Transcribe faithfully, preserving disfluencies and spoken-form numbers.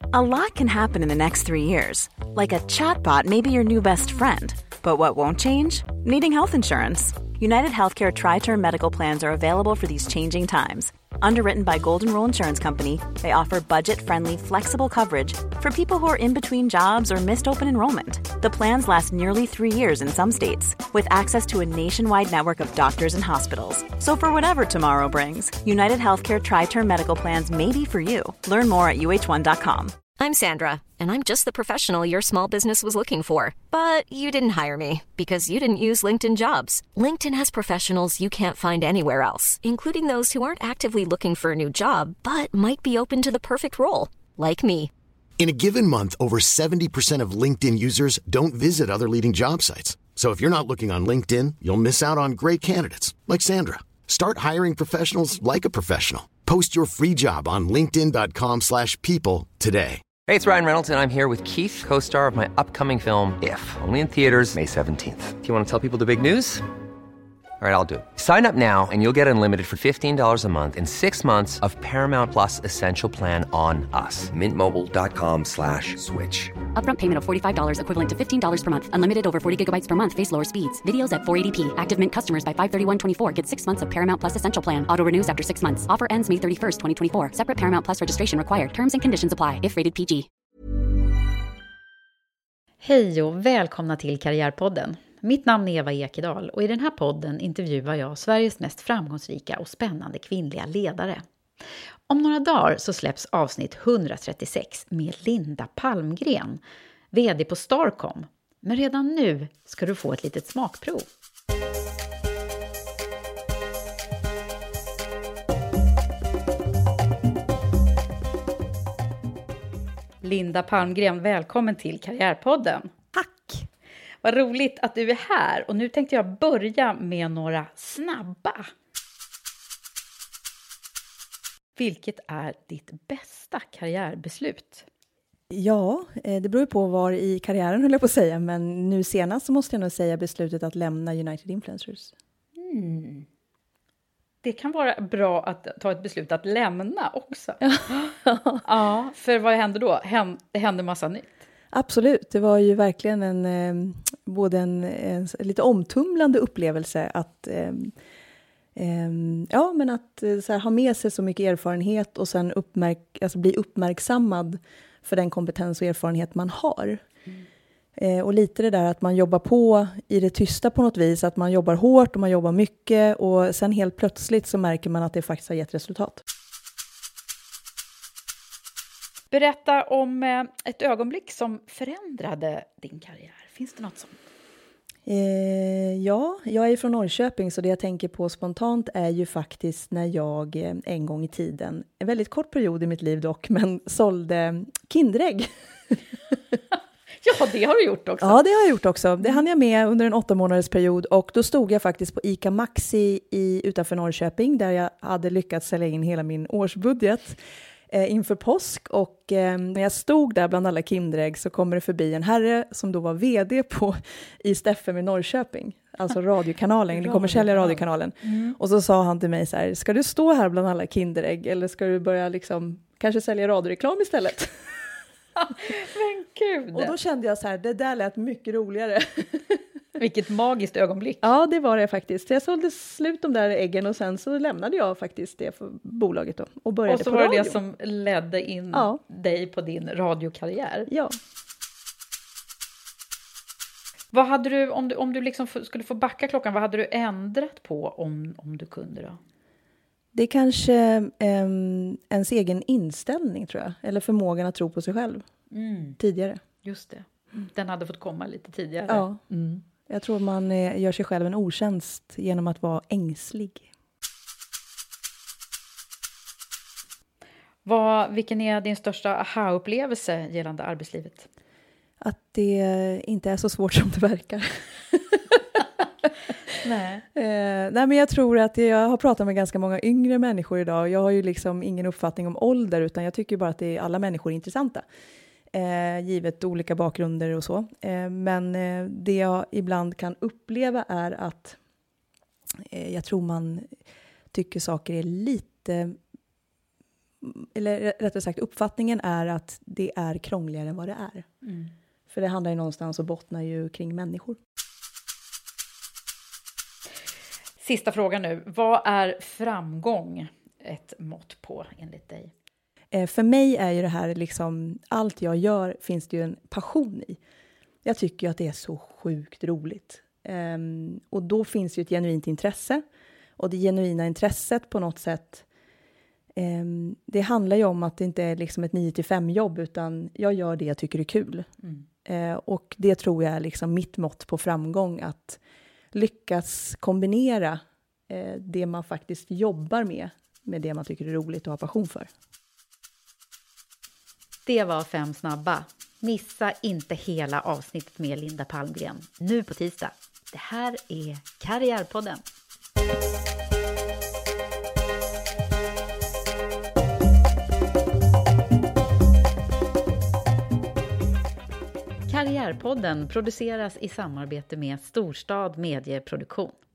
A lot can happen in the next three years. Like a chatbot may be your new best friend. But what won't change? Needing health insurance. United Healthcare Tri-Term Medical Plans are available for these changing times. Underwritten by Golden Rule Insurance Company, they offer budget-friendly, flexible coverage for people who are in between jobs or missed open enrollment. The plans last nearly three years in some states, with access to a nationwide network of doctors and hospitals. So for whatever tomorrow brings, United Healthcare Tri-Term Medical Plans may be for you. Learn more at U H one dot com. I'm Sandra, and I'm just the professional your small business was looking for. But you didn't hire me because you didn't use LinkedIn Jobs. LinkedIn has professionals you can't find anywhere else, including those who aren't actively looking for a new job, but might be open to the perfect role, like me. In a given month, over seventy percent of LinkedIn users don't visit other leading job sites. So if you're not looking on LinkedIn, you'll miss out on great candidates, like Sandra. Start hiring professionals like a professional. Post your free job on linkedin dot com slash people today. Hey, it's Ryan Reynolds, and I'm here with Keith, co-star of my upcoming film, If, only in theaters May seventeenth. Do you want to tell people the big news? All right, I'll do it. Sign up now and you'll get unlimited for fifteen dollars a month and six months of Paramount Plus Essential Plan on us. Mint Mobile dot com slash switch. Upfront payment of forty-five dollars equivalent to fifteen dollars per month. Unlimited over forty gigabytes per month. Face lower speeds. Videos at four eighty p. Active Mint customers by five thirty-one twenty-four get six months of Paramount Plus Essential Plan. Auto renews after six months. Offer ends May thirty-first, twenty twenty-four. Separate Paramount Plus registration required. Terms and conditions apply if rated P G. Hej och välkomna till Karriärpodden. Mitt namn är Eva Ekedal och i den här podden intervjuar jag Sveriges mest framgångsrika och spännande kvinnliga ledare. Om några dagar så släpps avsnitt etthundratrettiosex med Linda Palmgren, vd på Starcom. Men redan nu ska du få ett litet smakprov. Linda Palmgren, välkommen till Karriärpodden. Tack! Vad roligt att du är här och nu tänkte jag börja med några snabba. Vilket är ditt bästa karriärbeslut? Ja, det beror på var i karriären höll jag på att säga, men nu senast så måste jag nog säga beslutet att lämna United Influencers. Mm. Det kan vara bra att ta ett beslut att lämna också. Ja, för vad händer då? Det händer massa nytt. Absolut, det var ju verkligen en eh, både en, en lite omtumlande upplevelse att eh, eh, ja, men att eh, så här, ha med sig så mycket erfarenhet och sen uppmärk, alltså bli uppmärksammad för den kompetens och erfarenhet man har. Mm. Eh, och lite det där att man jobbar på i det tysta på något vis, att man jobbar hårt och man jobbar mycket och sen helt plötsligt så märker man att det faktiskt har gett resultat. Berätta om ett ögonblick som förändrade din karriär. Finns det något sånt? Eh, ja, jag är från Norrköping så det jag tänker på spontant är ju faktiskt när jag en gång i tiden, en väldigt kort period i mitt liv dock, men sålde Kinderägg. Ja, det har du gjort också. Ja, det har jag gjort också. Det hann jag med under en åtta månaders period och då stod jag faktiskt på ICA Maxi i, utanför Norrköping där jag hade lyckats sälja in hela min årsbudget eh, inför påsk och eh, när jag stod där bland alla Kinderägg så kommer det förbi en herre som då var vd på i Steffem i Norrköping, alltså radiokanalen, den kommersiella radiokanalen. Mm. Och så sa han till mig så här: ska du stå här bland alla Kinderägg eller ska du börja liksom kanske sälja radioreklam istället? Men gud. Och då kände jag så här, det där lät mycket roligare. Vilket magiskt ögonblick. Ja, det var det faktiskt. Jag sålde slut de där äggen och sen så lämnade jag faktiskt det för bolaget då. Och började och så på var radio. Det som ledde in ja. dig på din radiokarriär. Ja. Vad hade du, om du, om du liksom skulle få backa klockan, vad hade du ändrat på om, om du kunde då? Det är kanske um, ens egen inställning tror jag. Eller förmågan att tro på sig själv. Mm. Tidigare. Just det. Den hade fått komma lite tidigare. Ja. Mm. Jag tror man eh, gör sig själv en otjänst genom att vara ängslig. Vad, vilken är din största aha-upplevelse gällande arbetslivet? Att det inte är så svårt som det verkar. Nej. Eh, nej men jag tror att jag har pratat med ganska många yngre människor idag. Jag har ju liksom ingen uppfattning om ålder utan jag tycker bara att det är, alla människor är intressanta. Eh, givet olika bakgrunder och så. Eh, men eh, det jag ibland kan uppleva är att eh, jag tror man tycker saker är lite eller rättare sagt uppfattningen är att det är krångligare än vad det är. Mm. För det handlar ju någonstans och bottnar ju kring människor. Sista frågan nu. Vad är framgång ett mått på enligt dig? Eh, för mig är ju det här liksom, allt jag gör finns det ju en passion i. Jag tycker ju att det är så sjukt roligt. Eh, och då finns ju ett genuint intresse. Och det genuina intresset på något sätt, eh, det handlar ju om att det inte är liksom ett nio till fem jobb, utan jag gör det jag tycker är kul. Mm. Eh, och det tror jag är liksom mitt mått på framgång, att lyckas kombinera eh, det man faktiskt jobbar med med det man tycker är roligt och har passion för. Det var fem snabba. Missa inte hela avsnittet med Linda Palmgren nu på tisdag. Det här är Karriärpodden. Karriärpodden produceras i samarbete med Storstad Medieproduktion.